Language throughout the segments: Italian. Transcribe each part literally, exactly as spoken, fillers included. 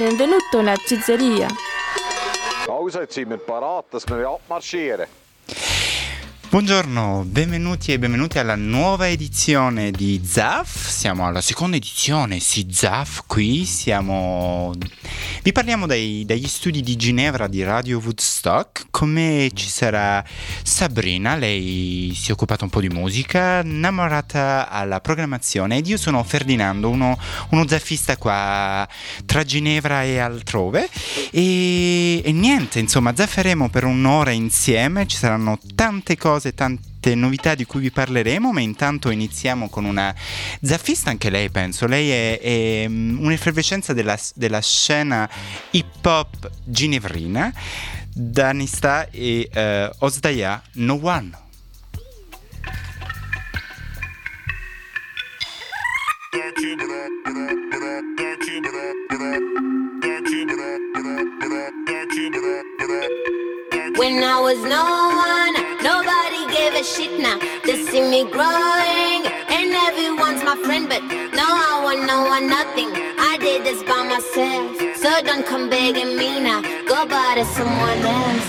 Benvenuto alla pizzeria. Also, jetzt sind wir parat, dass wir abmarschieren. Buongiorno, benvenuti e benvenuti alla nuova edizione di Zaf. Siamo alla seconda edizione, sì, Zaf, qui siamo... Vi parliamo dai, dagli studi di Ginevra di Radio Woodstock. Con me ci sarà Sabrina, lei si è occupata un po' di musica, innamorata alla programmazione, ed io sono Ferdinando, uno, uno zaffista qua tra Ginevra e altrove. E, e niente, insomma, zafferemo per un'ora insieme, ci saranno tante cose, tante novità di cui vi parleremo, ma intanto iniziamo con una zaffista, anche lei penso, lei è, è un'effervescenza della, della scena hip hop ginevrina, Danista e uh, Ozdaya No One. When I was no one, nobody gave a shit now. They see me growing, and everyone's my friend, but no, I want no one, nothing. I did this by myself, so don't come begging me now. Go bother someone else.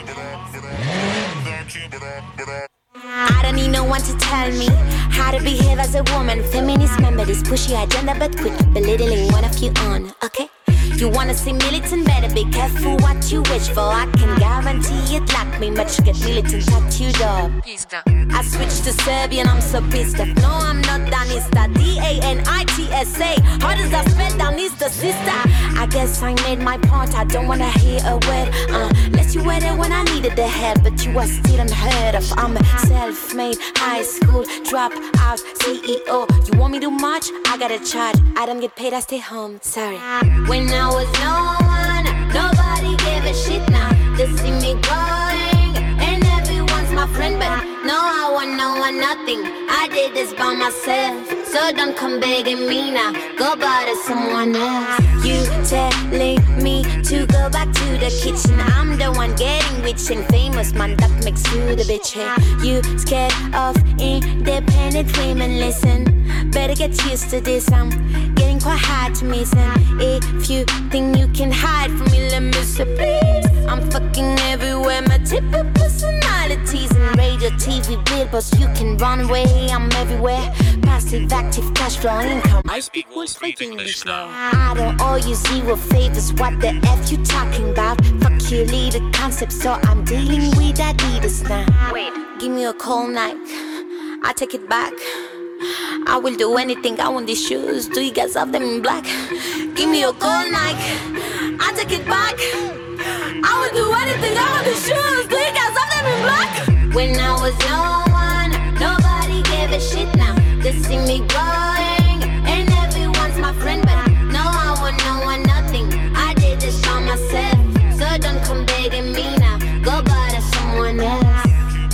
I don't need no one to tell me how to behave as a woman. Feminist member, this pushy agenda, but quit belittling one of you on, okay? You wanna see militant, better be careful what you wish for. I can guarantee it like me, but you get militant tattooed up. I switched to Serbian, I'm so pissed off. No, I'm not Danista, D A N I T S A. How does that spell Danista, sister? I guess I made my point, I don't wanna hear a word uh, Unless you were there when I needed the help, but you are still unheard of. I'm a self-made, high school, drop out, C E O. You want me to march? I gotta charge. I don't get paid, I stay home, sorry. When I was no one, nobody gave a shit now. They see me growing, and everyone's my friend, but no, I want no one, nothing. I did this by myself, so don't come begging me now. Go bother someone else. You telling me to go back to the kitchen. I'm the one getting rich and famous, man, that makes you the bitch. Hey, you scared of independent women, listen, better get used to this. I'm getting quite hard to miss, and if you think you can hide from me, let me say please. I'm fucking everywhere, my typical personalities and radio, T V, billboards. You can run away, I'm everywhere. Passive, active, cash flow, income. I speak full speak English now. I don't owe you zero favors. What the F you talking about? Fuck you, lead a concept, so I'm dealing with Adidas now. Wait, give me a call night, I take it back. I will do anything, I want these shoes. Do you guys have them in black? Give me a call night, I take it back. I will do anything, I want these shoes. Do you guys have them in black? When I was no one, nobody gave a shit now. They see me growing, and everyone's my friend, but no, I want no one, nothing. I did this by myself, so don't come begging me now. Go bother someone else.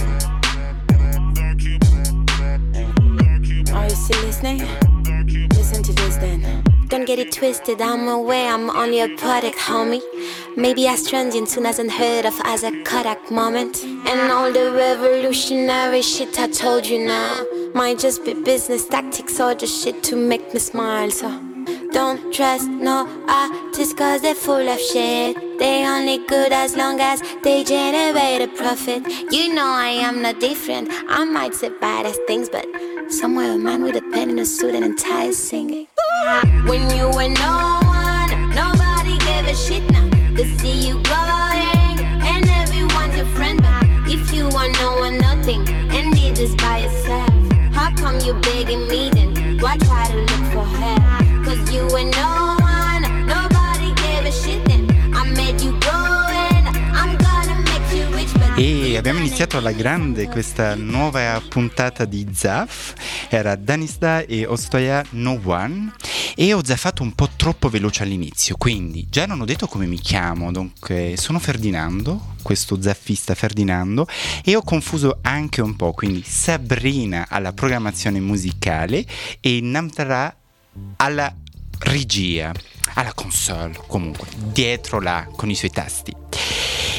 Are you still listening? Listen to this then. Don't get it twisted, I'm aware I'm only a product, homie. Maybe Astrandian soon hasn't heard of as a Kodak moment. And all the revolutionary shit I told you now might just be business tactics or just shit to make me smile. So don't trust no artists cause they're full of shit. They only good as long as they generate a profit. You know I am not different, I might say baddest things, but somewhere a man with a pen in a suit and a tie is singing. When you were no one, nobody gave a shit now. They see you growing, and everyone's your friend, but if you want no one, nothing, and did this by yourself, how come you begging me then? Why try to look for help? Cause you were no one, nobody gave a shit then. I made you grow and I'm gonna make you rich, but E abbiamo iniziato alla grande questa nuova puntata di Zaf. Era Danista e Ozdaya No One. E ho zaffato un po' troppo veloce all'inizio, quindi già non ho detto come mi chiamo. Dunque sono Ferdinando, questo zaffista Ferdinando, e ho confuso anche un po', quindi Sabrina alla programmazione musicale e Namtara alla regia, alla console, comunque dietro là con i suoi tasti.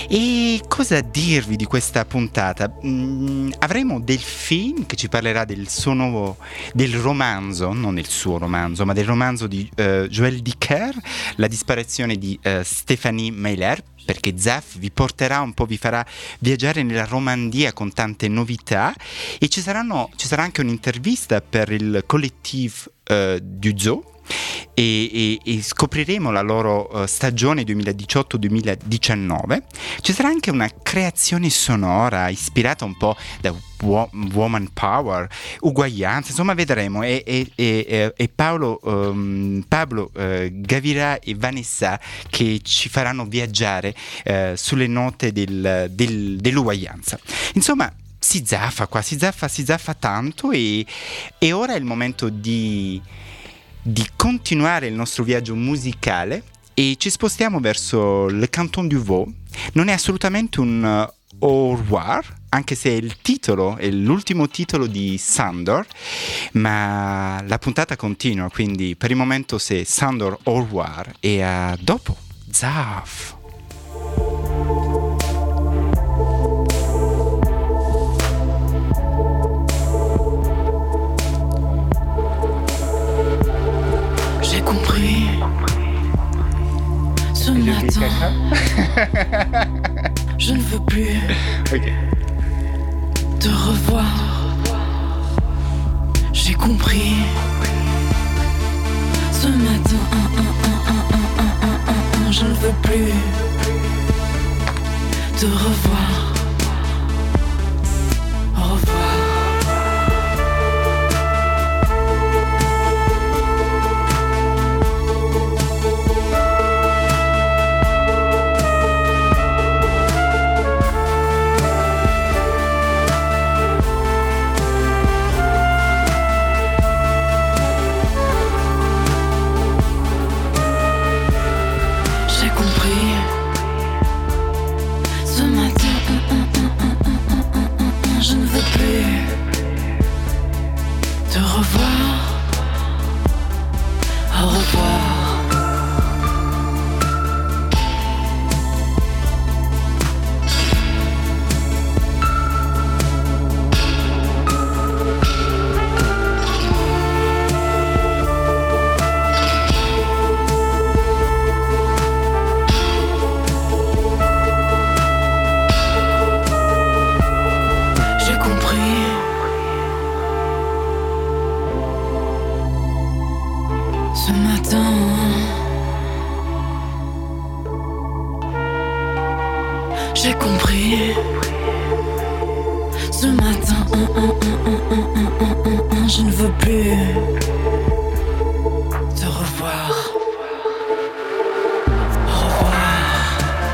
E cosa dirvi di questa puntata? Mm, avremo Delphine che ci parlerà del suo nuovo, del romanzo, non il suo romanzo, ma del romanzo di uh, Joël Dicker, La disparizione di uh, Stéphanie Meyer, perché Zaf vi porterà un po', vi farà viaggiare nella Romandia con tante novità, e ci, saranno, ci sarà anche un'intervista per il collettif uh, du Zoo, e, e, e scopriremo la loro uh, stagione duemiladiciotto duemiladiciannove. Ci sarà anche una creazione sonora ispirata un po' da wo- woman power, uguaglianza, insomma vedremo, e, e, e, e Paolo, um, Pablo uh, Gavirà e Vanessa che ci faranno viaggiare uh, sulle note del, del, dell'uguaglianza. Insomma, si zaffa qua, si zaffa, si zaffa tanto, e, e ora è il momento di di continuare il nostro viaggio musicale e ci spostiamo verso le Canton du Vaud. Non è assolutamente un uh, au revoir, anche se è il titolo, è l'ultimo titolo di Sandor, ma la puntata continua, quindi per il momento c'est Sandor au revoir e a dopo Zaf. J'ai compris ce matin. Je ne veux plus okay. te revoir. J'ai compris ce matin. Je ne veux plus te revoir. Au revoir. J'ai compris ce matin. Je ne veux plus te revoir. Au revoir.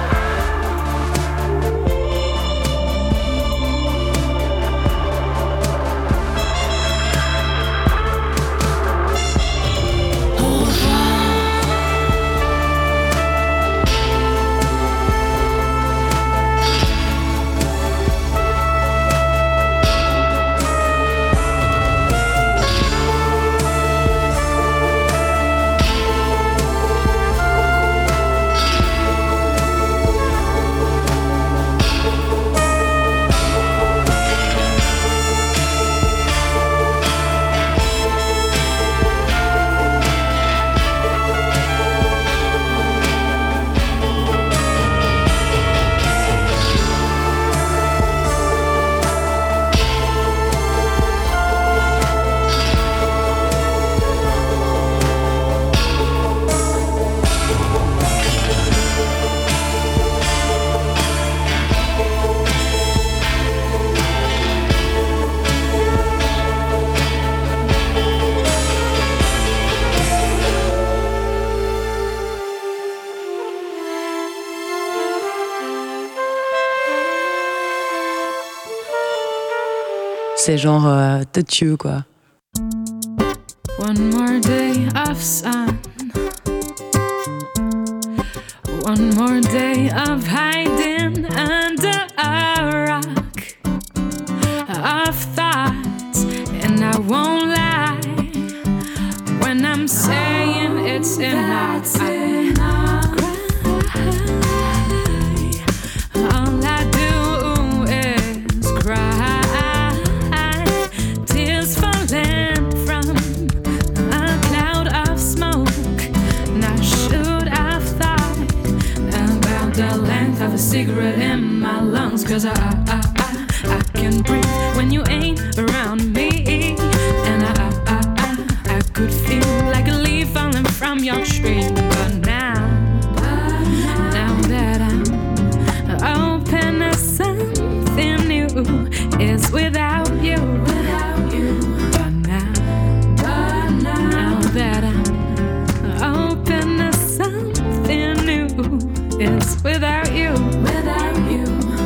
Au revoir. C'est genre euh, têtu quoi. One more day of sun, one more day of hiding under a rock, of thoughts, and I won't lie when I'm saying it's enough. I, cigarette in my lungs, cause I, I, I, I can breathe when you ain't around me. And I, I, I, I could feel like a leaf falling from your tree. But now, now that I'm open to something new, it's without you, without you. But now, but now, now that I'm open to something new, it's without you, without you.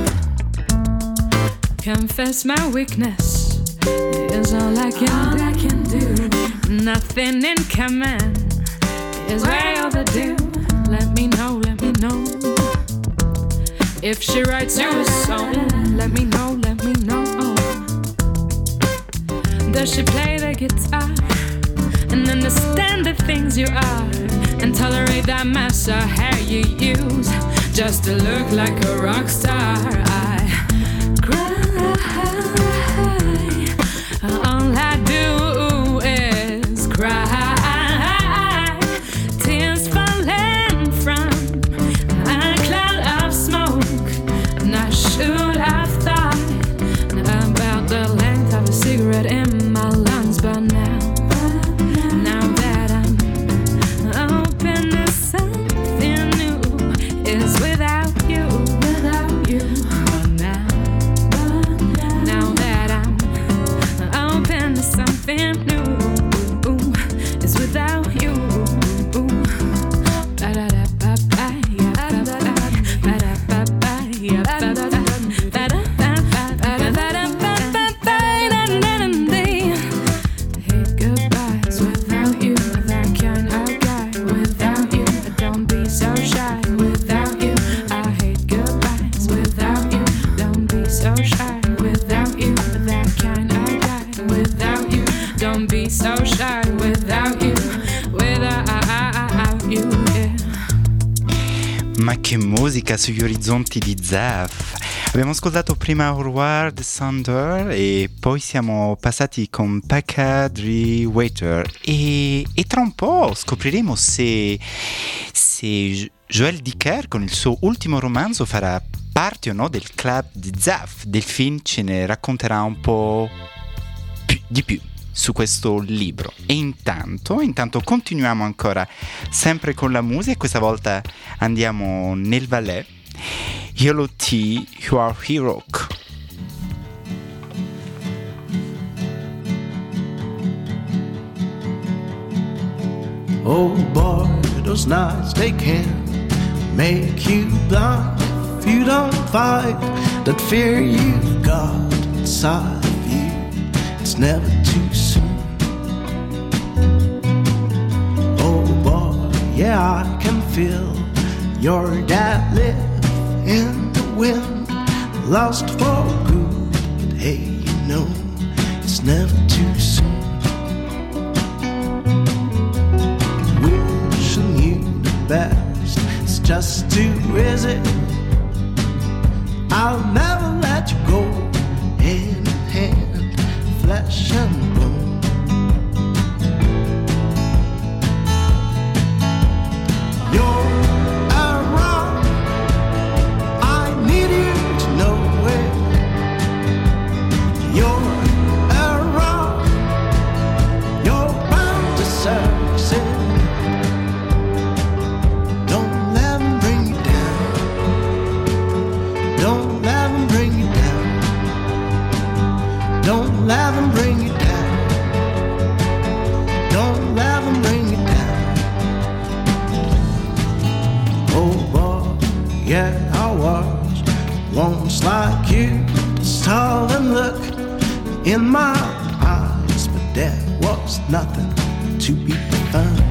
Confess my weakness is all I can, all do. I can do. Nothing in common is way overdue. Let me know, let me know. If she writes you a song, let me know, let me know. Does she play the guitar and understand the things you are, and tolerate that mess of hair you use just to look like a rock star? I cry. All I do is cry. Tears falling from a cloud of smoke. And I should have thought about the length of a cigarette in my lungs. But now, now that I'm open to something new, it's without you, without you. But now, now that I'm open to something new, it's without you. Hate goodbyes without you, that kind of guy. Without you, don't be so shy. Without you, I hate goodbyes. Without you, don't be so shy. Without you, that kind of guy. Without you, don't be so shy. Without you, without you, yeah. Ma che musica sugli orizzonti di Zaf! Abbiamo ascoltato prima Howard Sander e poi siamo passati con Pekka Dre Waiter e, e tra un po' scopriremo se, se Joël Dicker con il suo ultimo romanzo farà parte o no del club di Zaf. Delphine ce ne racconterà un po' più, di più su questo libro. E intanto, intanto continuiamo ancora sempre con la musica, questa volta andiamo nel Valais. Yellow Tea, You Are Hero. Oh boy, those nights they can make you blind if you don't fight that fear you've got inside of you. It's never too soon. Oh boy, yeah, I can feel your dad live in the wind, lost for good, but hey, you know, it's never too soon. Wishing you the best, it's just too easy. I'll never let you go, hand in hand, flesh and bone. You're let them bring you down. Don't let them bring you down. Oh boy, yeah, I was once like you, tall and look in my eyes, but there was nothing to be found.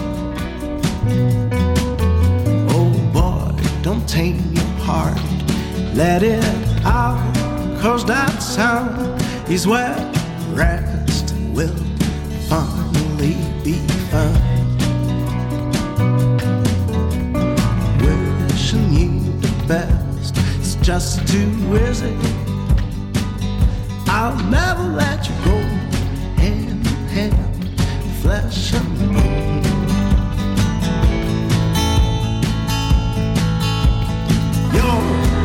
Oh boy, don't tame your heart, let it out, cause that sound is where rest will finally be found. Wishing you the best, it's just too easy. I'll never let you go, hand in hand, flesh and bone. You're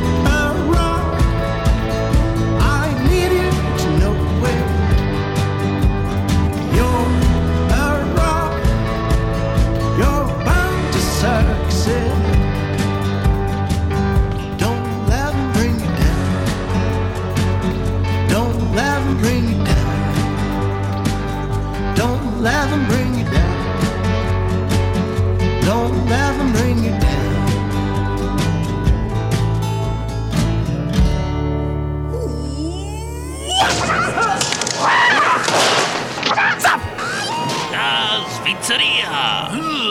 Don't let them bring you down. Don't let them bring you down. La Svizzeria!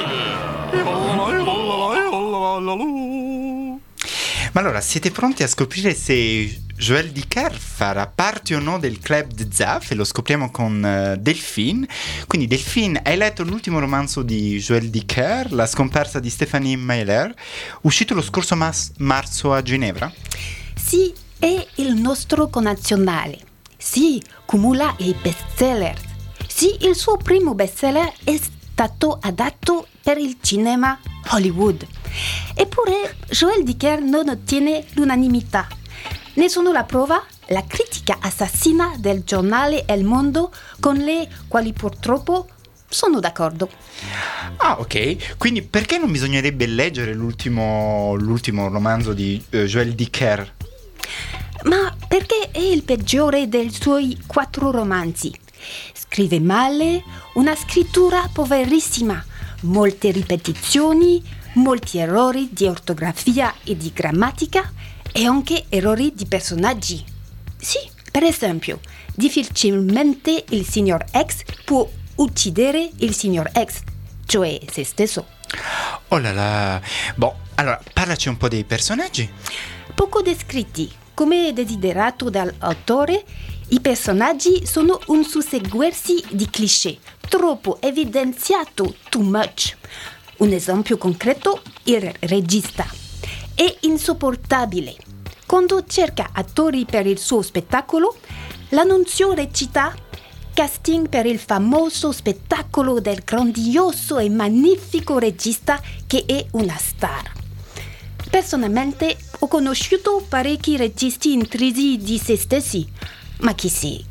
Ma allora, siete pronti a scoprire se Joël Dicker farà parte o no del club di Zaf? E lo scopriamo con uh, Delphine. Quindi Delphine, hai letto l'ultimo romanzo di Joël Dicker, La scomparsa di Stephanie Meyer, uscito lo scorso mas- marzo a Ginevra? Sì, è il nostro connazionale. Sì, cumula i bestseller. Sì, il suo primo bestseller è stato adatto per il cinema Hollywood. Eppure Joël Dicker non ottiene l'unanimità. Ne sono la prova la critica assassina del giornale El Mondo, con le quali purtroppo sono d'accordo. Ah, ok. Quindi perché non bisognerebbe leggere l'ultimo, l'ultimo romanzo di uh, Joël Dicker? Ma perché è il peggiore dei suoi quattro romanzi. Scrive male, una scrittura poverissima, molte ripetizioni, molti errori di ortografia e di grammatica e anche errori di personaggi. Sì, per esempio, difficilmente il signor X può uccidere il signor X, cioè se stesso. Oh là là. Boh, allora, parlaci un po' dei personaggi. Poco descritti. Come desiderato dall'autore, i personaggi sono un susseguirsi di cliché, troppo evidenziato, too much. Un esempio concreto, il regista. È insopportabile. Quando cerca attori per il suo spettacolo, l'annunzio recita casting per il famoso spettacolo del grandioso e magnifico regista che è una star. Personalmente ho conosciuto parecchi registi intrisi di se stessi, ma chi si...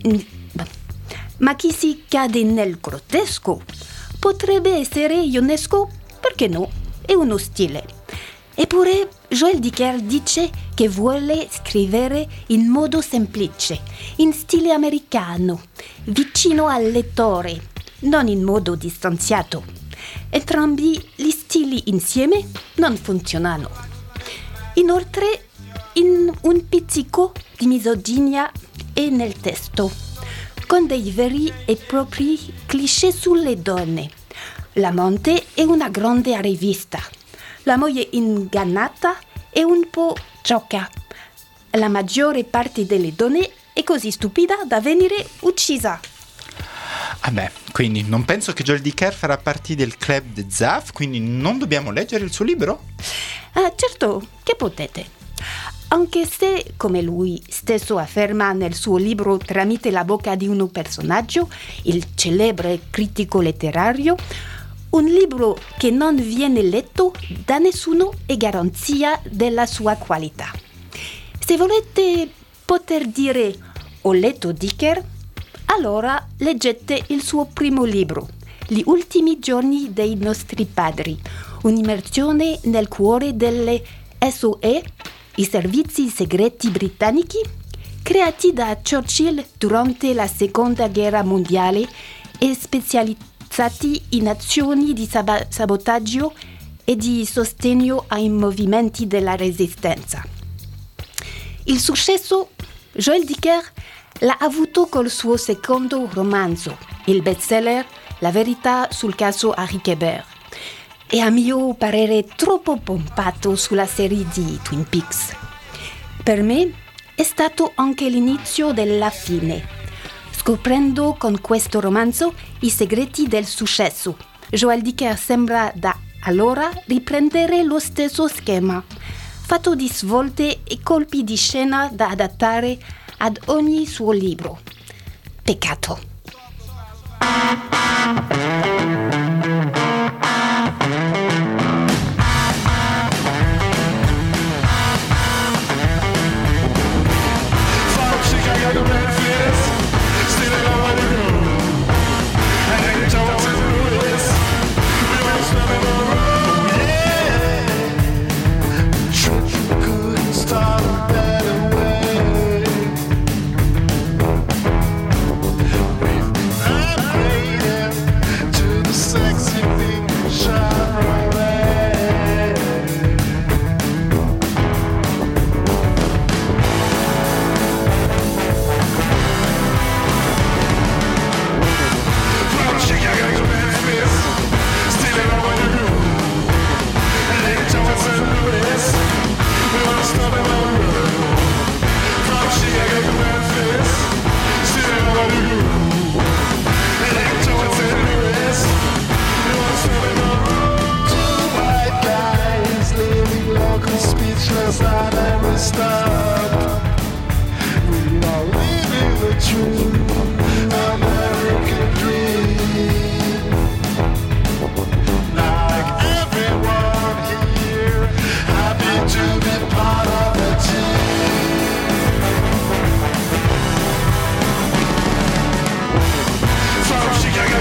ma chi si cade nel grottesco potrebbe essere ionesco, perché no? È uno stile. Eppure Joël Dicker dice che vuole scrivere in modo semplice, in stile americano, vicino al lettore, non in modo distanziato. Entrambi gli stili insieme non funzionano. Inoltre, in un pizzico di misoginia è nel testo, con dei veri e propri cliché sulle donne. L'amante è una grande arrivista. La moglie ingannata è un po' sciocca. La maggiore parte delle donne è così stupida da venire uccisa. Vabbè, quindi non penso che Joël Dicker farà parte del club di Zaf, quindi non dobbiamo leggere il suo libro? Ah, certo, che potete. Anche se, come lui stesso afferma nel suo libro tramite la bocca di un personaggio, il celebre critico letterario, un libro che non viene letto da nessuno è garanzia della sua qualità. Se volete poter dire ho letto Dicker, allora leggete il suo primo libro, Gli ultimi giorni dei nostri padri, un'immersione nel cuore delle S O E, i servizi segreti britannici, creati da Churchill durante la Seconda Guerra Mondiale e specializzati in azioni di sab- sabotaggio e di sostegno ai movimenti della resistenza. Il successo Joël Dicker l'ha avuto col suo secondo romanzo, il bestseller La verità sul caso Harry Kéber, e a mio parere troppo pompato sulla serie di Twin Peaks. Per me è stato anche l'inizio della fine, scoprendo con questo romanzo i segreti del successo. Joël Dicker sembra da allora riprendere lo stesso schema, fatto di svolte e colpi di scena da adattare ad ogni suo libro. Peccato. Start a better way.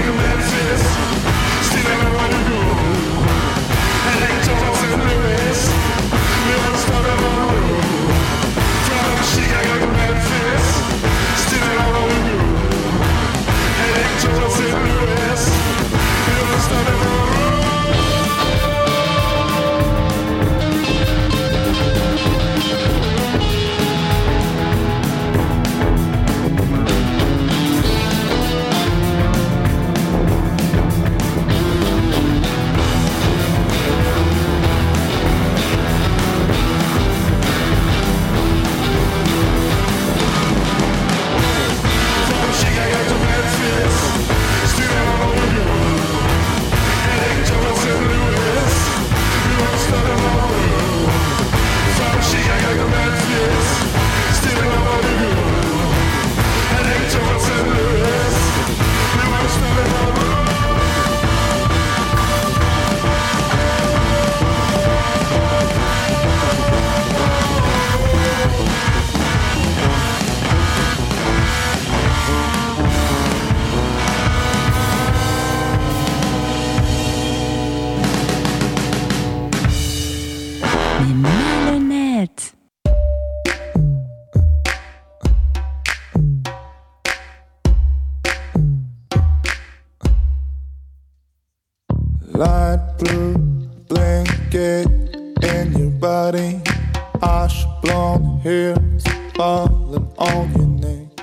Light blue blanket in your body, ash blonde hairs falling on your neck.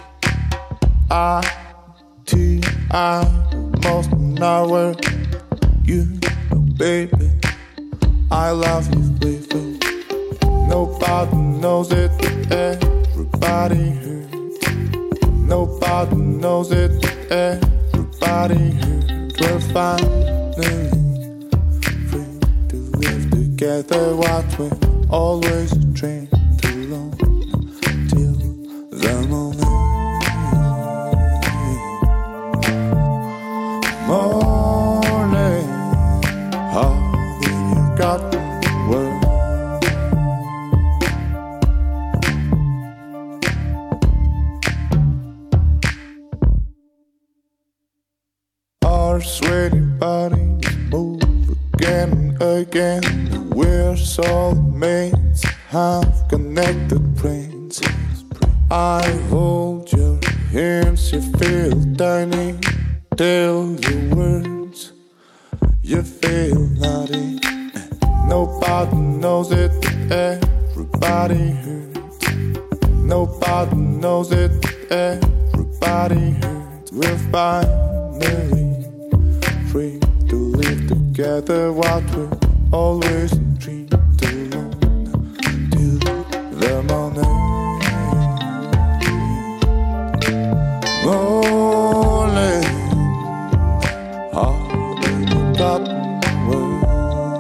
I, T, I, most nowhere. You know, baby, I love you, baby. Nobody knows it, everybody hurts. Nobody knows it, everybody hurts. We're finally free to live together, what we always dreamed alone till the morning. Morning, how you got the world? Our sweaty bodies move again and again. We're soulmates, have connected brains. I hold your hands, you feel tiny. Tell your words, you feel naughty. Nobody knows it, everybody hurts. Nobody knows it, everybody hurts. We're finally free to live together, what we always dreamed alone till the morning. Morning, how did you got the world?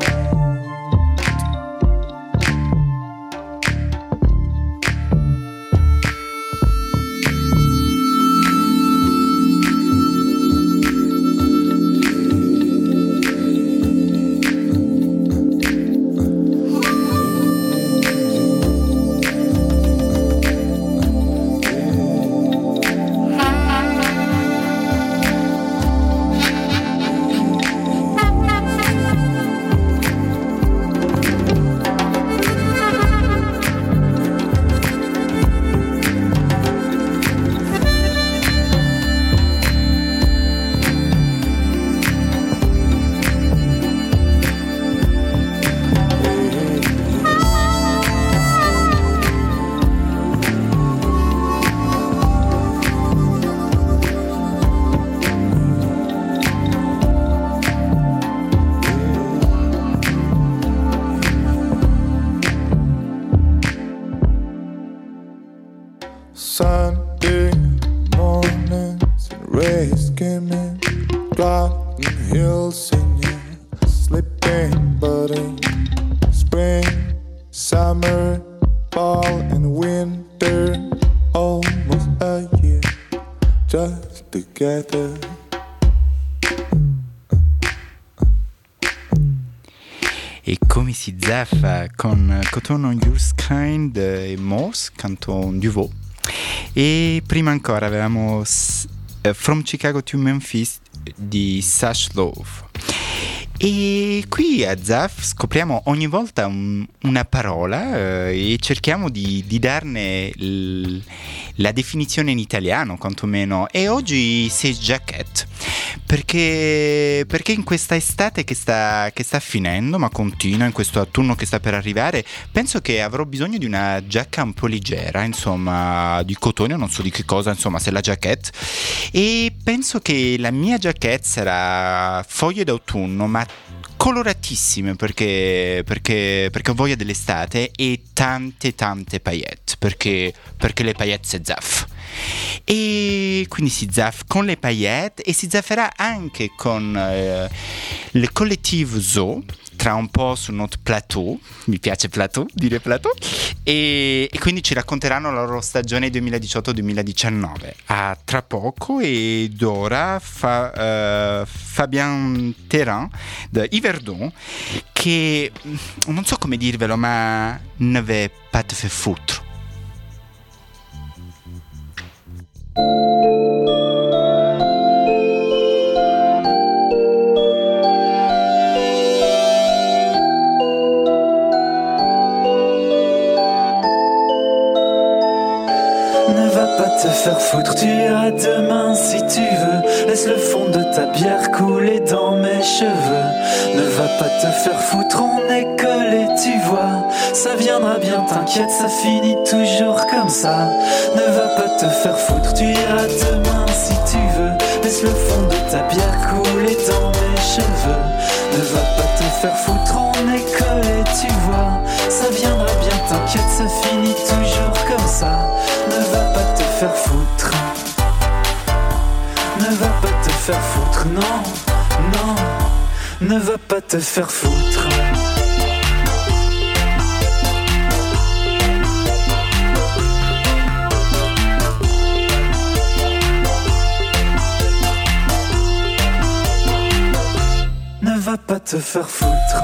Sunday mornings and rays skimming, Garden Hill singing, sleeping buddy. Spring, summer, fall and winter, almost a year just together. E come si zaffa con Coton on Yours Kind e Moss, canto un Duvaux. E prima ancora avevamo uh, From Chicago to Memphis di Sash Love. E qui a Zaf scopriamo ogni volta un, una parola eh, e cerchiamo di, di darne l, la definizione in italiano quantomeno, e oggi sei jacket perché, perché in questa estate che sta, che sta finendo ma continua, in questo autunno che sta per arrivare, penso che avrò bisogno di una giacca un po' leggera, insomma di cotone, non so di che cosa, insomma se la jacket, e penso che la mia jacket sarà foglie d'autunno ma coloratissime perché, perché, perché ho voglia dell'estate, e tante tante paillette perché, perché le paillette c'est Zaf, e quindi si zaffa con le paillette e si zafferà anche con eh, il collettivo Zoo tra un po' sul nostro plateau, mi piace plateau, dire plateau, e, e quindi ci racconteranno la loro stagione duemiladiciotto duemiladiciannove. A tra poco, ed ora fa, uh, Fabien Terrain di Yverdon, che non so come dirvelo, ma ne veut pas te faire foutre. Te faire foutre, tu iras demain si tu veux. Laisse le fond de ta bière couler dans mes cheveux. Ne va pas te faire foutre, on est collés, tu vois. Ça viendra bien, t'inquiète, ça finit toujours comme ça. Ne va pas te faire foutre, tu iras demain si tu veux. Laisse le fond de ta bière couler dans mes cheveux. Ne va pas te faire foutre, on est collés, tu vois. Ça viendra bien, t'inquiète, ça finit toujours comme ça. Ne va pas te faire foutre. Ne va pas te faire foutre, non, non. Ne va pas te faire foutre. Ne va pas te faire foutre.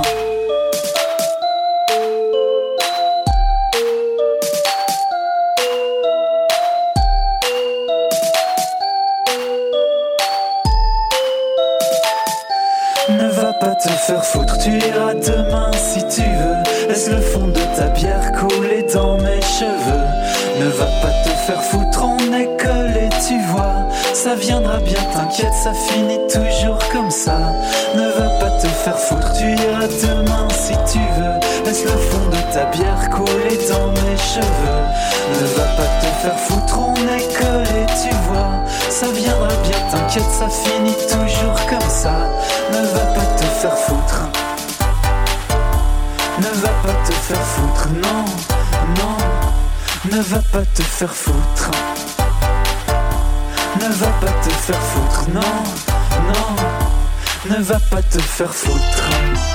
Ne va pas te faire foutre, tu iras demain si tu veux. Laisse le fond de ta bière couler dans mes cheveux. Ne va pas te faire foutre, on est collés, tu vois. Ça viendra bien, t'inquiète, ça finit toujours comme ça. Ne va pas te faire foutre, tu iras demain si tu veux. Laisse le fond de ta bière couler dans mes cheveux. Ne va pas te faire foutre, on est collés, tu vois. Ça viendra bien, t'inquiète, ça finit toujours comme ça. Ne va pas te faire foutre. Ne va pas te faire foutre, non, non. Ne va pas te faire foutre. Ne va pas te faire foutre, non, non. Ne va pas te faire foutre.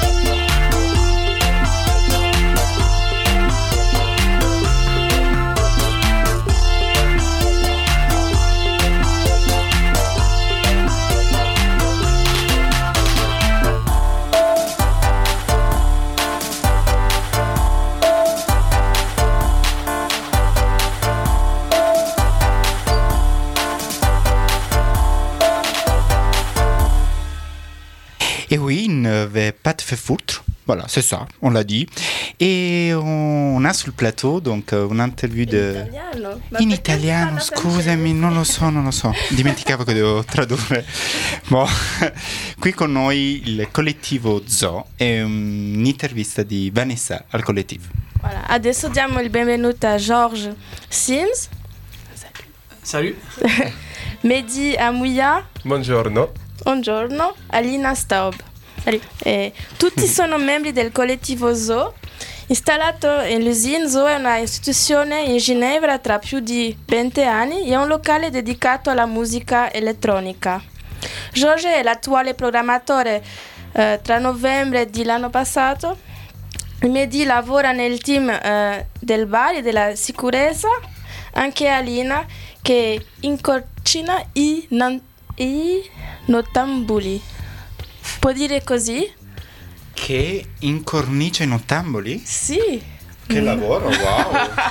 Et oui, ne va pas te faire foutre. Voilà, c'est ça, on l'a dit. Et on a sul plateau donc un'interview de... In italiano? Ma In perché italiano, si parla scusami, non lo so, non lo so. Dimenticavo che devo tradurre. Boh. Qui con noi il collettivo Zoo e un'intervista di Vanessa al collettivo. Voilà. Adesso diamo il benvenuto a Georges Sims. Salut. Mehdi Amouya. Buongiorno. Buongiorno. Alina Staub. Salut. E tutti sono membri del collettivo Zoo. Installato all'Usine, Zoo è una istituzione in Ginevra tra più di venti anni e è un locale dedicato alla musica elettronica. Georges è l'attuale programmatore eh, tra novembre dell'anno passato. Mehdi lavora nel team eh, del bar e della sicurezza. Anche Alina che incorcina i, nan- i nottambuli. Può dire così? Che incornicia i nottamboli? Sì. Che lavoro, wow!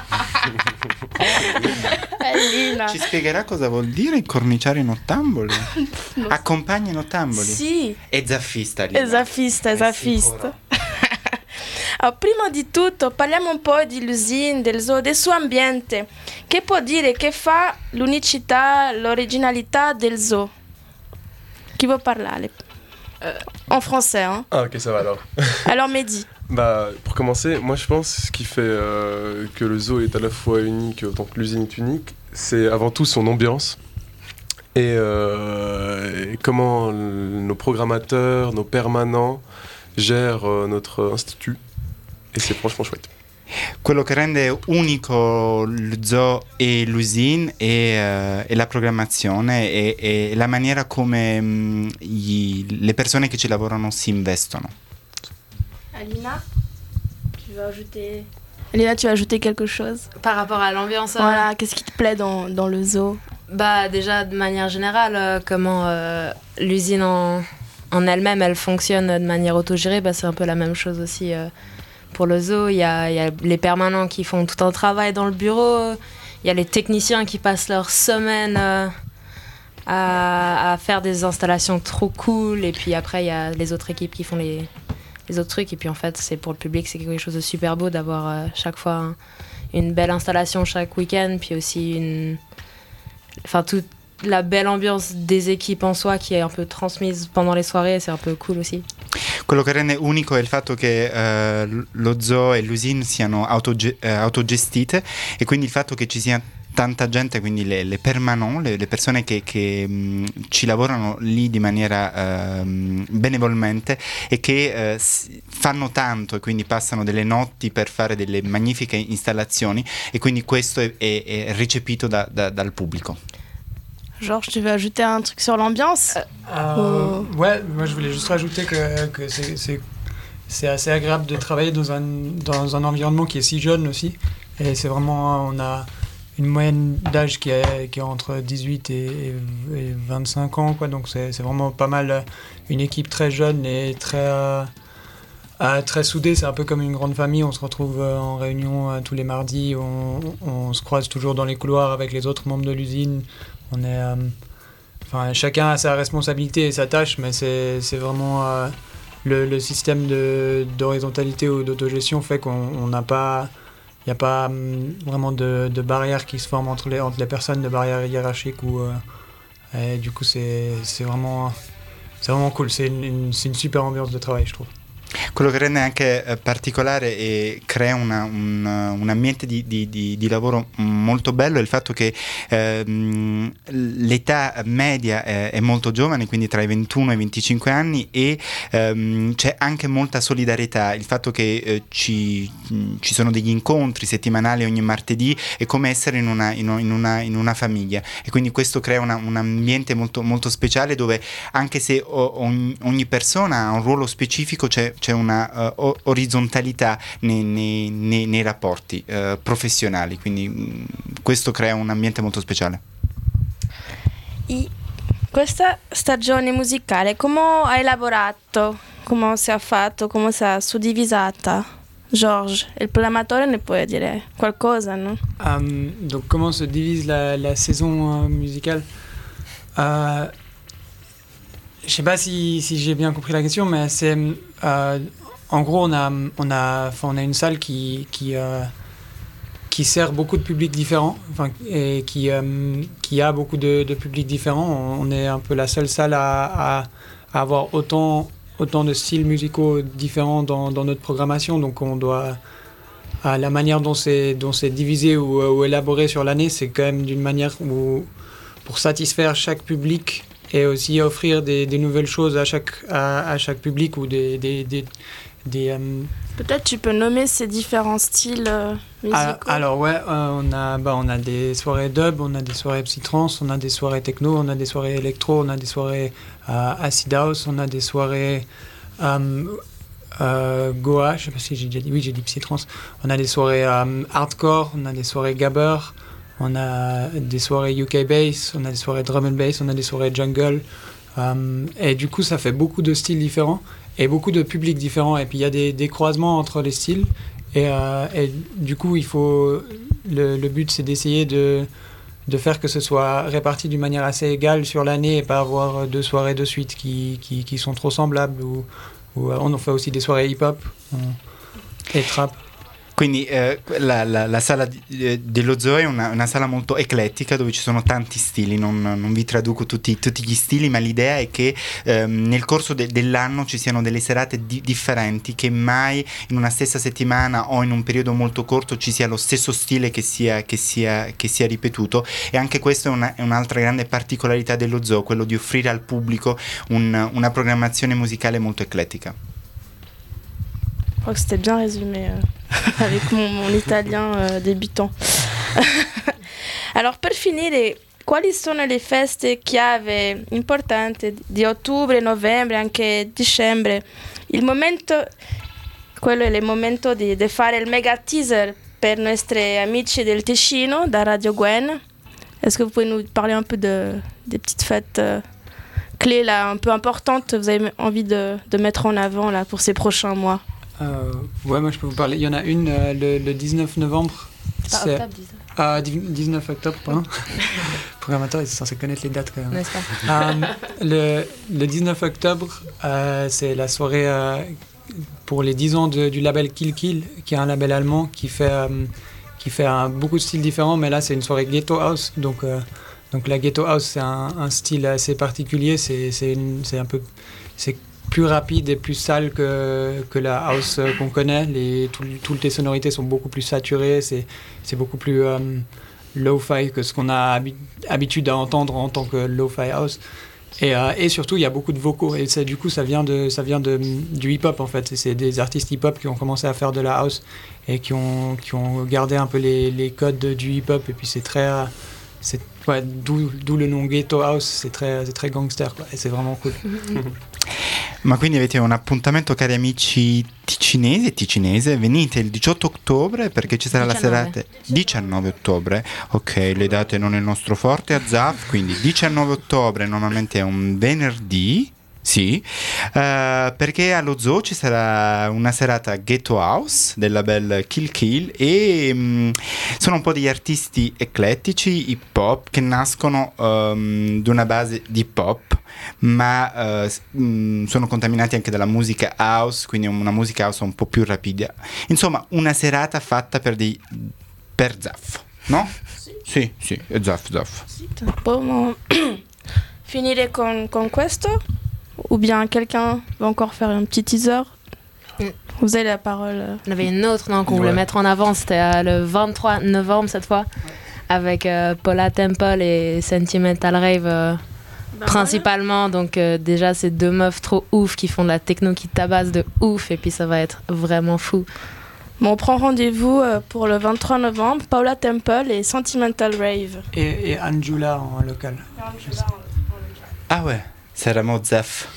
Alina. Ci spiegherà cosa vuol dire corniciare in ottamboli? No. Accompagna in ottamboli? Sì. È zaffista, Alina. È zaffista, è zaffista. Allora, prima di tutto parliamo un po' di Lusine, del zoo, del suo ambiente. Che può dire che fa l'unicità, l'originalità del zoo? Qui veut parler en français, hein? Ah ok, ça va alors. Alors Mehdi. Bah, pour commencer, moi je pense ce qui fait euh, que le zoo est à la fois unique autant que l'usine est unique, c'est avant tout son ambiance et, euh, et comment nos programmateurs, nos permanents gèrent euh, notre institut. Et c'est franchement chouette. Quello che rende unico lo zoo e l'usine è, uh, è la programmazione e, e la maniera come um, gli, le persone che ci lavorano si investono. Alina, tu veux ajouter... Alina, tu veux ajouter quelque chose? Par rapport à l'ambiance. Voilà, qu'est-ce qui te plaît dans, dans le zoo? Bah déjà de manière générale, euh, comment euh, l'usine en, en elle-même, elle fonctionne de manière autogérée, bah, c'est un peu la même chose aussi euh, pour le zoo. Il y a, il y a les permanents qui font tout un travail dans le bureau, il y a les techniciens qui passent leur semaine euh, à, à faire des installations trop cool, et puis après il y a les autres équipes qui font les, les autres trucs, et puis en fait c'est pour le public, c'est quelque chose de super beau d'avoir euh, chaque fois un, une belle installation chaque week-end, puis aussi une... Enfin, toute la belle ambiance des équipes en soi qui est un peu transmise pendant les soirées, c'est un peu cool aussi. Quello che rende unico è il fatto che uh, lo zoo e l'usine siano autoge- uh, autogestite, e quindi il fatto che ci sia tanta gente, quindi le, le permanent, le, le persone che, che mh, ci lavorano lì di maniera uh, benevolmente e che uh, fanno tanto e quindi passano delle notti per fare delle magnifiche installazioni, e quindi questo è, è, è recepito da, da, dal pubblico. Georges, tu veux ajouter un truc sur l'ambiance? euh, oh. Ouais, moi je voulais juste rajouter que, que c'est, c'est, c'est assez agréable de travailler dans un, dans un environnement qui est si jeune aussi. Et c'est vraiment, on a une moyenne d'âge qui est, qui est entre dix-huit et, et vingt-cinq ans, quoi. Donc c'est, c'est vraiment pas mal, une équipe très jeune et très, euh, euh, très soudée. C'est un peu comme une grande famille, on se retrouve en réunion euh, tous les mardis, on, on se croise toujours dans les couloirs avec les autres membres de l'usine. On est, euh, enfin, chacun a sa responsabilité et sa tâche, mais c'est, c'est vraiment euh, le, le système de, d'horizontalité ou d'autogestion fait qu'on n'a pas, il n'y a pas um, vraiment de, de barrières qui se forment entre les, entre les personnes, de barrières hiérarchiques, ou, euh, et du coup c'est, c'est, vraiment, c'est vraiment cool, c'est une, une, c'est une super ambiance de travail, je trouve. Quello che rende anche eh, particolare e crea una, un, un ambiente di, di, di, di lavoro molto bello è il fatto che ehm, l'età media è, è molto giovane, quindi tra i ventuno e i venticinque anni, e ehm, c'è anche molta solidarietà. Il fatto che eh, ci, ci sono degli incontri settimanali ogni martedì è come essere in una, in una, in una famiglia, e quindi questo crea una, un ambiente molto, molto speciale, dove anche se o, ogni, ogni persona ha un ruolo specifico, c'è c'è una uh, orizzontalità nei, nei, nei, nei rapporti uh, professionali, quindi mh, questo crea un ambiente molto speciale. E questa stagione musicale, come hai lavorato? Come si è fatto? Come si è suddivisata? Georges, il programmatore ne può dire qualcosa, no? Um, donc comment se divise la, la saison euh, musicale? euh, Je sais pas si, si j'ai bien compris la question, mais c'est euh, en gros on a on a enfin on a une salle qui qui euh, qui sert beaucoup de publics différents, enfin et qui euh, qui a beaucoup de, de publics différents. On, on est un peu la seule salle à, à, à avoir autant autant de styles musicaux différents dans, dans notre programmation, donc on doit à la manière dont c'est dont c'est divisé ou, ou élaboré sur l'année, c'est quand même d'une manière où pour satisfaire chaque public et aussi offrir des, des nouvelles choses à chaque, à, à chaque public, ou des... des, des, des euh... Peut-être tu peux nommer ces différents styles euh, musicaux. Alors, alors ouais, euh, on, a, bah, on a des soirées dub, on a des soirées psytrance, on a des soirées techno, on a des soirées électro, on a des soirées euh, acid house, on a des soirées euh, euh, goa, je sais pas si j'ai déjà dit, oui j'ai dit psytrance, on a des soirées euh, hardcore, on a des soirées gabber, on a des soirées U K bass, on a des soirées drum and bass, on a des soirées jungle. Euh, et du coup, ça fait beaucoup de styles différents et beaucoup de publics différents. Et puis, il y a des, des croisements entre les styles. Et, euh, et du coup, il faut, le, le but c'est d'essayer de, de faire que ce soit réparti d'une manière assez égale sur l'année et pas avoir deux soirées de suite qui, qui, qui sont trop semblables. Ou, ou on fait aussi des soirées hip-hop et trap. Quindi eh, la, la, la sala di, eh, dello zoo è una, una sala molto eclettica dove ci sono tanti stili, non, non vi traduco tutti, tutti gli stili, ma l'idea è che eh, nel corso de, dell'anno ci siano delle serate di, differenti, che mai in una stessa settimana o in un periodo molto corto ci sia lo stesso stile che sia, che sia, che sia ripetuto, e anche questa è, una, è un'altra grande particolarità dello zoo, quello di offrire al pubblico un, una programmazione musicale molto eclettica. Je crois que c'était bien résumé euh, avec mon, mon italien euh, débutant. Alors per finire, quali sono le feste chiave importanti di ottobre, novembre, anche dicembre? Il momento, quello è il momento di, di fare il mega teaser per i nostri amici del Ticino, da Radio Gwen. Est-ce que vous pouvez nous parler un peu de, des petites fêtes euh, clés là, un peu importantes, vous avez envie de, de mettre en avant là, pour ces prochains mois? Euh, ouais, moi je peux vous parler. Il y en a une euh, le, le dix-neuf novembre. C'est pas octobre, dix-neuf. Ah, dix-neuf octobre, pardon. Le programmateur est censé connaître les dates quand même. N'est-ce pas? euh, le, le dix-neuf octobre, euh, c'est la soirée euh, pour les dix ans de, du label Kill Kill, qui est un label allemand qui fait, euh, qui fait un, beaucoup de styles différents, mais là c'est une soirée Ghetto House. Donc, euh, donc la Ghetto House, c'est un, un style assez particulier. C'est, c'est, une, c'est un peu. C'est plus rapide et plus sale que, que la house qu'on connaît. Les, tout, toutes les sonorités sont beaucoup plus saturées, c'est, c'est beaucoup plus euh, lo-fi que ce qu'on a habi- habitude à entendre en tant que lo-fi house. Et, euh, et surtout, il y a beaucoup de vocaux. Et ça, du coup, ça vient, de, ça vient de, du hip-hop, en fait. C'est des artistes hip-hop qui ont commencé à faire de la house et qui ont, qui ont gardé un peu les, les codes du hip-hop. Et puis, c'est très... Euh, c'est, ouais, d'où, d'où le nom Ghetto House, c'est très, c'est très gangster, quoi. Et c'est vraiment cool. Ma quindi avete un appuntamento, cari amici ticinesi e ticinese, venite il diciotto ottobre perché ci sarà diciannove. la serata diciannove ottobre, ok, le date non è il nostro forte a Zaf, quindi diciannove ottobre normalmente è un venerdì, sì, uh, perché allo zoo ci sarà una serata Ghetto House del label Kill Kill e um, sono un po' degli artisti eclettici hip hop che nascono um, da una base di hip hop, ma uh, mh, sono contaminati anche dalla musica house, quindi una musica house un po' più rapida. Insomma, una serata fatta per dei per Zaf, no? Sì, sì, sì, è Zaf, Zaf. Sì, possiamo finire con, con questo? Ou bien quelqu'un va encore faire un petit teaser? Mm. Vous avez la parole. On avait une autre non, qu'on Ouais. voulait mettre en avant, c'était euh, le vingt-trois novembre cette fois, avec euh, Paula Temple et Sentimental Rave euh, principalement. Donc euh, déjà, c'est deux meufs trop ouf qui font de la techno qui tabasse de ouf, et puis ça va être vraiment fou. Bon, on prend rendez-vous euh, pour le vingt-trois novembre, Paula Temple et Sentimental Rave. Et, et Anjula en local. Ah ouais, saremo Zaf.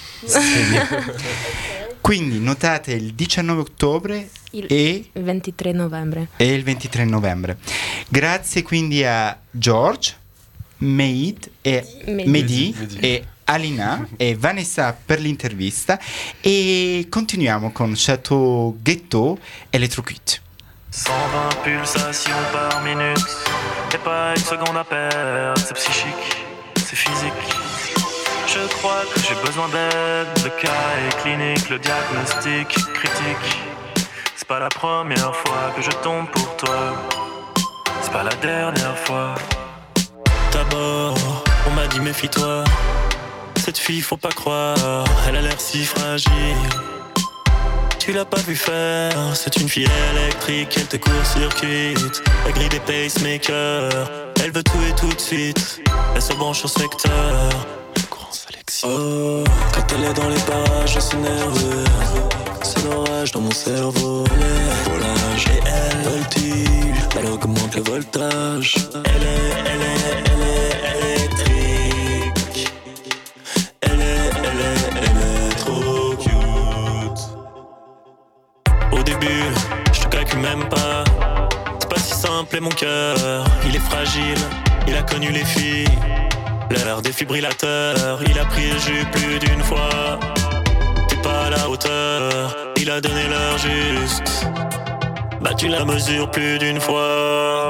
Quindi notate il diciannove ottobre Il e, ventitré novembre. e il ventitré novembre. Grazie quindi a George, Meid e Mehdi. Mehdi Mehdi. e Alina e Vanessa per l'intervista, e continuiamo con Chateau Ghetto Electrocute. cent vingt pulsations par minute, et pas une seconde à perdre, c'est psychique, c'est physique. Je crois que j'ai besoin d'aide, le cas est clinique, le diagnostic critique. C'est pas la première fois que je tombe pour toi, c'est pas la dernière fois. D'abord, on m'a dit méfie-toi, cette fille faut pas croire, elle a l'air si fragile. Tu l'as pas vu faire, c'est une fille électrique, elle te court-circuite. La grille des pacemakers, elle veut tout et tout de suite. Elle se branche au secteur, courant sélection. Oh, quand elle est dans les parages, je suis nerveux. C'est l'orage dans mon cerveau, elle est volage et elle voltige. Elle augmente le voltage. Elle est, elle est, elle est électrique. Elle est, elle est, elle est trop cute. Au début, je te calcule même pas. C'est pas si simple et mon cœur, il est fragile. Il a connu les filles, l'heure des défibrillateurs. Il a pris le jus plus d'une fois. T'es pas à la hauteur, il a donné l'heure juste. Battu la mesure plus d'une fois.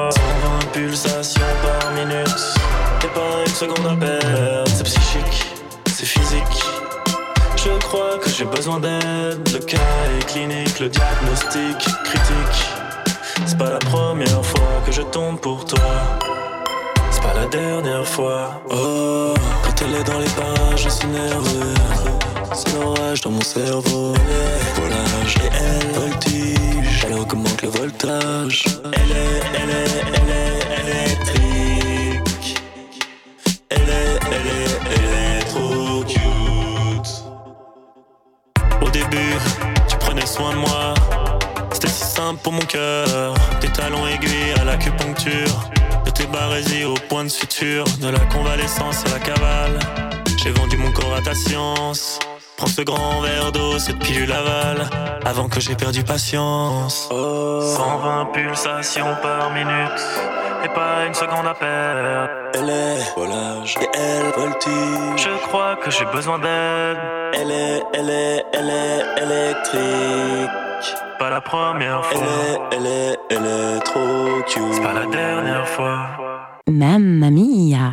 cent vingt pulsations par minute. Y'a pas une seconde à perdre. C'est psychique, c'est physique. Je crois que j'ai besoin d'aide. Le cas est clinique, le diagnostic critique. C'est pas la première fois que je tombe pour toi. C'est pas la dernière fois. Oh, quand elle est dans les parages, je suis nerveux. C'est l'orage dans mon cerveau. Volage et elle voltige. Elle augmente le voltage. Elle est, elle est, elle est électrique. Elle est, elle est, elle est trop cute. Au début, tu prenais soin de moi. C'était si simple pour mon cœur. Des talons aiguilles à l'acupuncture. De tes barésies au point de suture. De la convalescence à la cavale. J'ai vendu mon corps à ta science. Prends ce grand verre d'eau, cette pilule avale. Avant que j'ai perdu patience. Oh. cent vingt pulsations par minute. Et pas une seconde à perdre. Elle est volage et elle voltige. Je crois que j'ai besoin d'aide. Elle est, elle est, elle est électrique. Pas la première fois. Elle est, elle est, elle est trop cute. C'est pas la dernière fois. Mamma mia.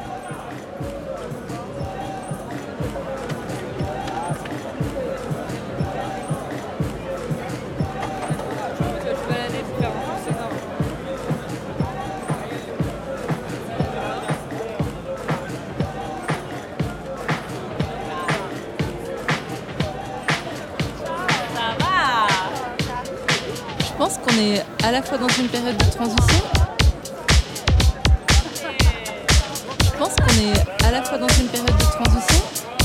Je pense qu'on est à la fois dans une période de transition. Je pense qu'on est à la fois dans une période de transition.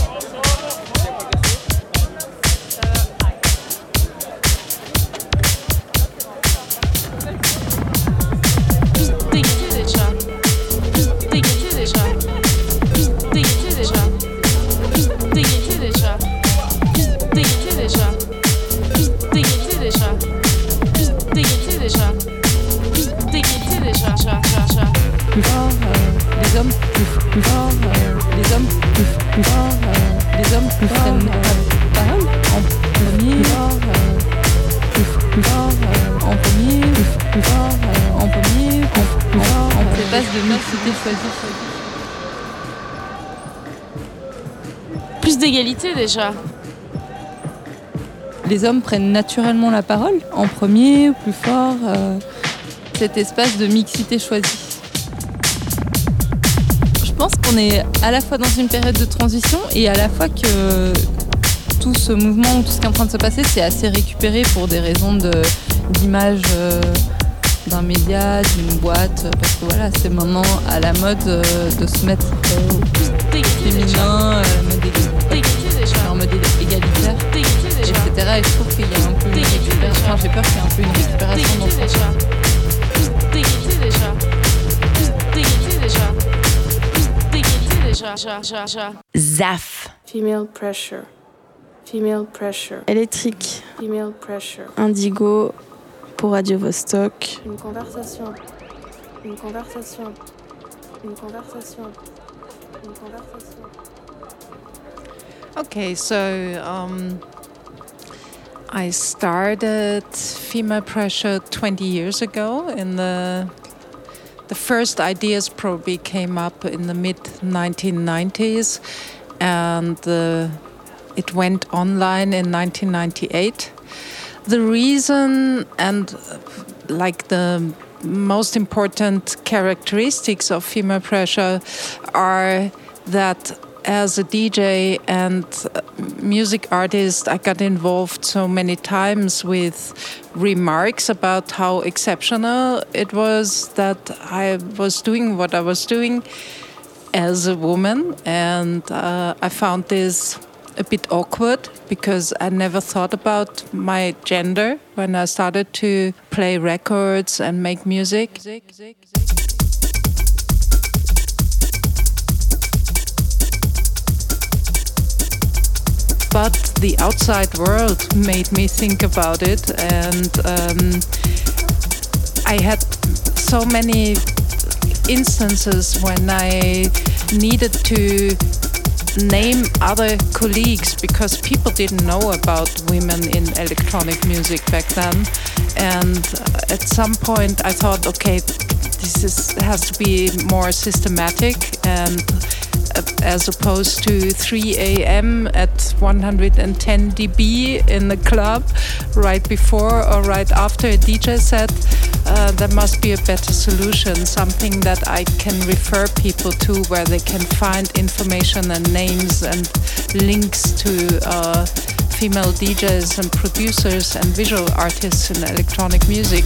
Plus fort, euh, les hommes plus, plus fort, euh, les hommes plus, plus fort, euh, les hommes plus prennent la parole en premier, plus fort, euh, plus, plus fort, euh, en premier, plus, plus fort, euh, en premier, plus, plus fort, en ces bases de mixité choisie. Plus d'égalité déjà. Les hommes prennent naturellement la parole en premier, plus fort, euh, cet espace de mixité choisie. Je pense qu'on est à la fois dans une période de transition et à la fois que tout ce mouvement, tout ce qui est en train de se passer, c'est assez récupéré pour des raisons de, d'image euh, d'un média, d'une boîte, parce que voilà, c'est maintenant à la mode euh, de se mettre euh, au plus féminin, euh, mode égalité, en mode égalitaire, et cetera. Et je trouve qu'il y a un peu une récupération, enfin, j'ai peur qu'il y ait un peu une récupération dans ce sens. Plus d'égalité déjà. Plus d'égalité déjà. Zaf. Female pressure. Female pressure. Électrique. Female pressure. Indigo pour Radio Vostok. Une conversation. Une conversation. Une conversation. Une conversation. Okay, so um, I started Female Pressure twenty years ago in the The first ideas probably came up in the mid nineteen nineties, and uh, it went online in nineteen ninety-eight. The reason and uh, like the most important characteristics of Female Pressure are that as a D J and music artist, I got involved so many times with remarks about how exceptional it was that I was doing what I was doing as a woman. And uh, I found this a bit awkward because I never thought about my gender when I started to play records and make music. But the outside world made me think about it, and um, I had so many instances when I needed to name other colleagues because people didn't know about women in electronic music back then. And at some point I thought, okay, this is, has to be more systematic, and uh, as opposed to three a.m. at one hundred ten decibels in the club right before or right after a D J set, uh, there must be a better solution, something that I can refer people to where they can find information and names and links to uh, female D Js and producers and visual artists in electronic music.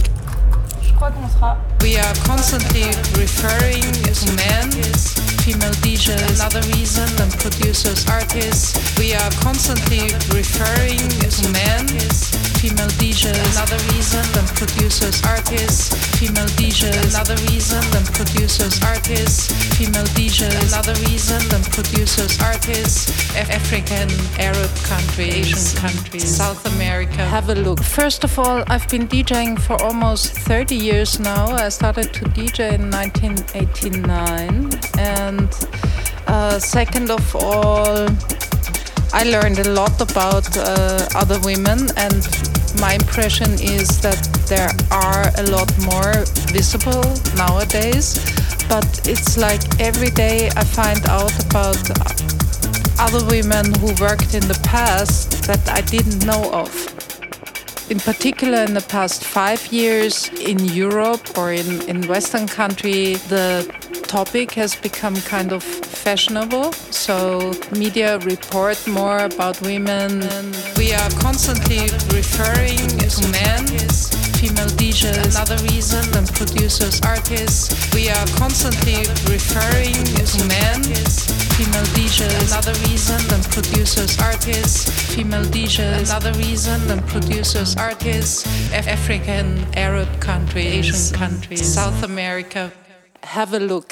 We are constantly referring to men, female D Js, another reason, and producers, artists. We are constantly referring to men, female D Js, another reason, and producers, artists. Female D Js, another reason, and producers, artists. Female D Js, another reason, and producers, artists. Af- African, Arab countries, Asian countries, South America. Have a look. First of all, I've been DJing for almost thirty years now. I started to D J in nineteen eighty-nine, and uh, second of all, I learned a lot about uh, other women, and my impression is that there are a lot more visible nowadays, but it's like every day I find out about other women who worked in the past that I didn't know of. In particular, in the past five years in Europe or in, in Western country, the topic has become kind of fashionable. So media report more about women. And we are constantly referring to men, female D Js, another reason, and producers, artists. We are constantly referring to men, female D Js, another reason, and producers, artists. Female D Js, another reason, and producers, artists. Af- African, Arab countries, Asian countries, South America. Have a look.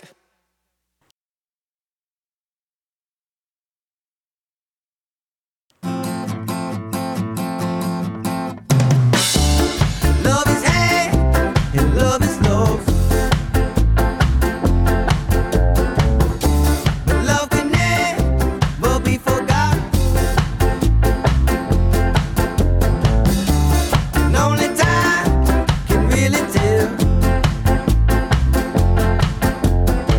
Love is hate and love is love. But love can never be forgot. And only time can really tell.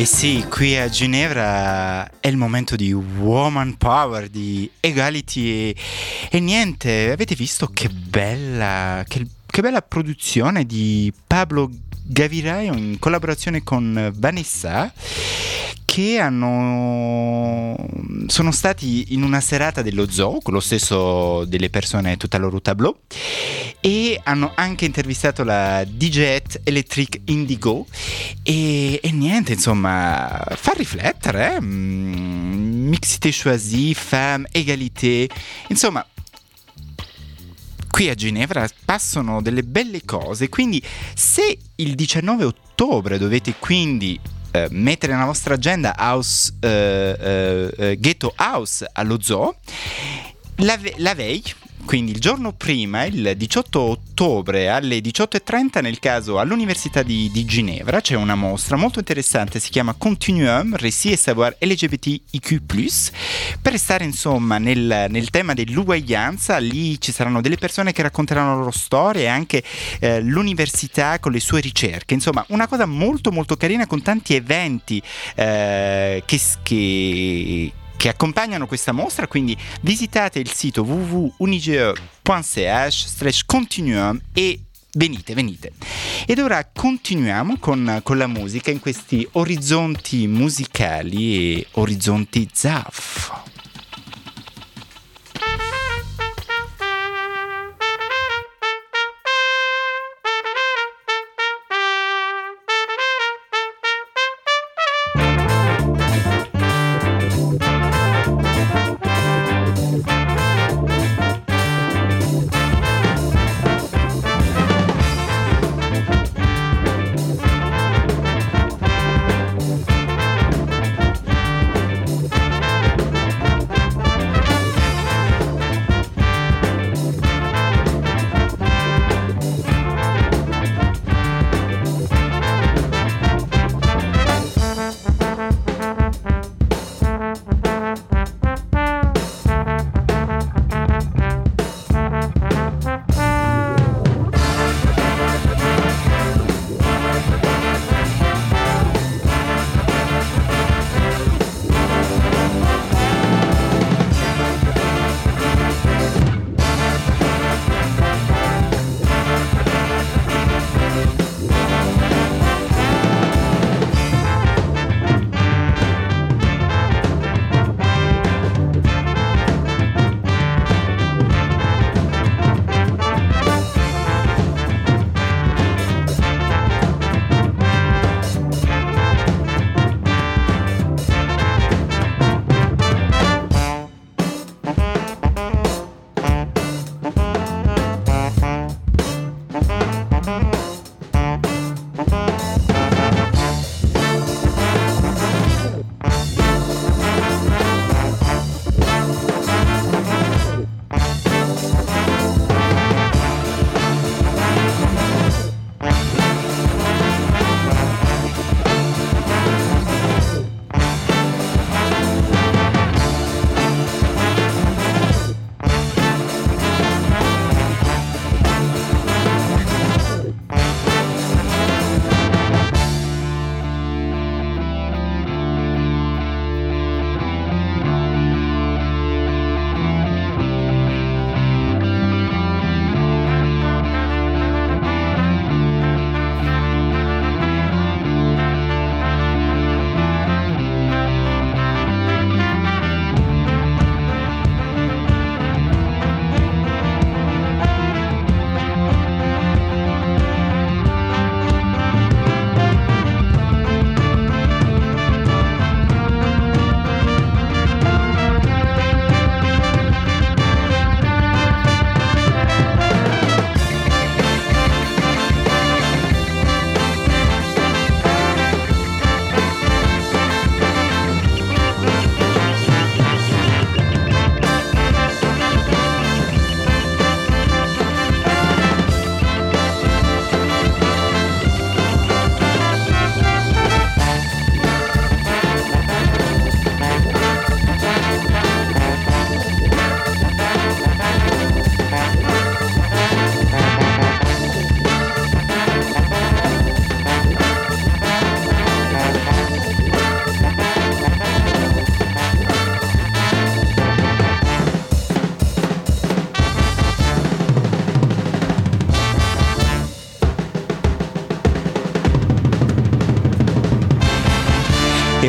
E sì, qui a Ginevra è il momento di woman power, di equality e, e niente, avete visto che bella, che, che bella produzione di Pablo Gavirai in collaborazione con Vanessa, che hanno sono stati in una serata dello zoo con lo stesso delle persone tutta loro tableau, e hanno anche intervistato la D J Electric Indigo e, e niente, insomma, fa riflettere, eh? Mixité choisie, femme, égalité, insomma. Qui a Ginevra passano delle belle cose, quindi se il diciannove ottobre dovete quindi eh, mettere nella vostra agenda house, eh, eh, Ghetto House allo zoo, la, la veille, quindi il giorno prima, il diciotto ottobre alle diciotto e trenta, nel caso all'Università di, di Ginevra, c'è una mostra molto interessante, si chiama Continuum, Récits et Savoir L G B T I Q plus, per restare insomma nel, nel tema dell'uguaglianza. Lì ci saranno delle persone che racconteranno la loro storia e anche eh, l'università con le sue ricerche, insomma una cosa molto molto carina, con tanti eventi eh, che, che che accompagnano questa mostra, quindi visitate il sito w w w punto unige punto c h slash continuum e venite, venite. Ed ora continuiamo con, con la musica in questi orizzonti musicali e orizzonti Zaf.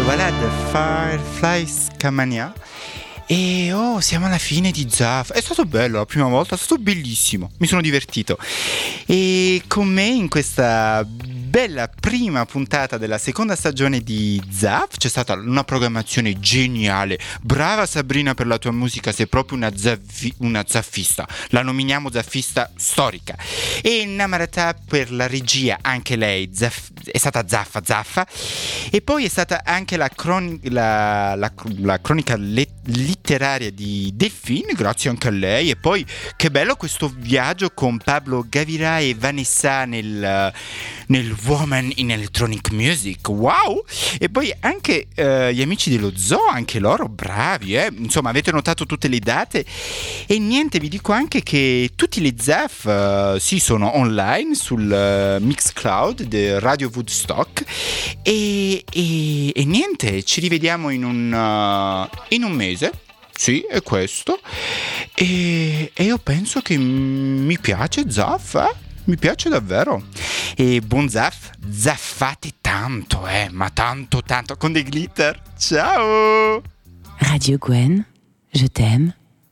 voilà, The Firefly Scamania. E oh, siamo alla fine di Zaf. È stato bello la prima volta, è stato bellissimo, mi sono divertito. E con me in questa bella prima puntata della seconda stagione di Zaf c'è stata una programmazione geniale. Brava Sabrina per la tua musica, sei proprio una, zaffi, una zaffista. La nominiamo zaffista storica. E Namarata per la regia, anche lei zaff, è stata zaffa zaffa. E poi è stata anche la, croni, la, la, la cronica let, letteraria di Delphine, grazie anche a lei. E poi che bello questo viaggio con Pablo Gavira e Vanessa nel, nel Woman in Electronic Music, wow! E poi anche uh, gli amici dello Zoo, anche loro bravi, eh? Insomma avete notato tutte le date. E niente, vi dico anche che tutti le Zaf uh, sì, sono online sul uh, Mixcloud di Radio Woodstock. E, e, e niente, ci rivediamo in un, uh, in un mese. Sì, è questo. E, e io penso che mi piace Zaf, eh? Mi piace davvero. E buon Zaf, zaffate tanto, eh, ma tanto tanto con dei glitter. Ciao. Radio Gwen, je t'aime.